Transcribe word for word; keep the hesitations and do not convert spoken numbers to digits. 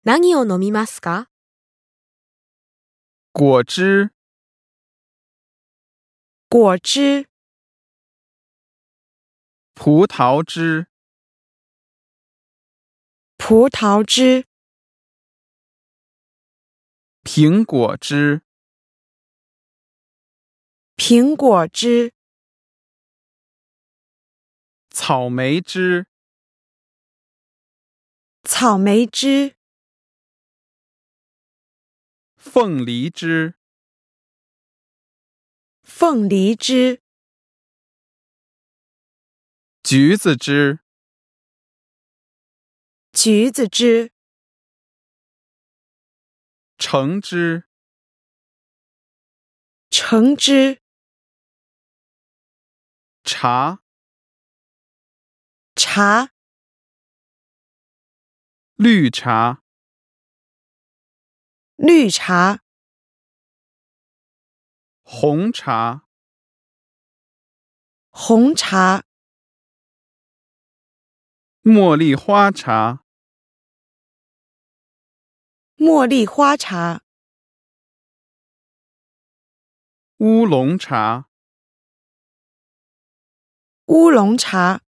何を飲みますか？ 果汁、 果汁、 葡萄汁、 葡萄汁、 苹果汁、 苹果汁、 草莓汁、 草莓汁、 凤梨汁、 凤梨汁、 橘子汁、 橘子汁、 橙汁、 橙汁、 茶、 茶、 绿茶、 绿茶、 红茶、 红茶、 茉莉花茶、 茉莉花茶、 乌龙茶。 乌龙茶。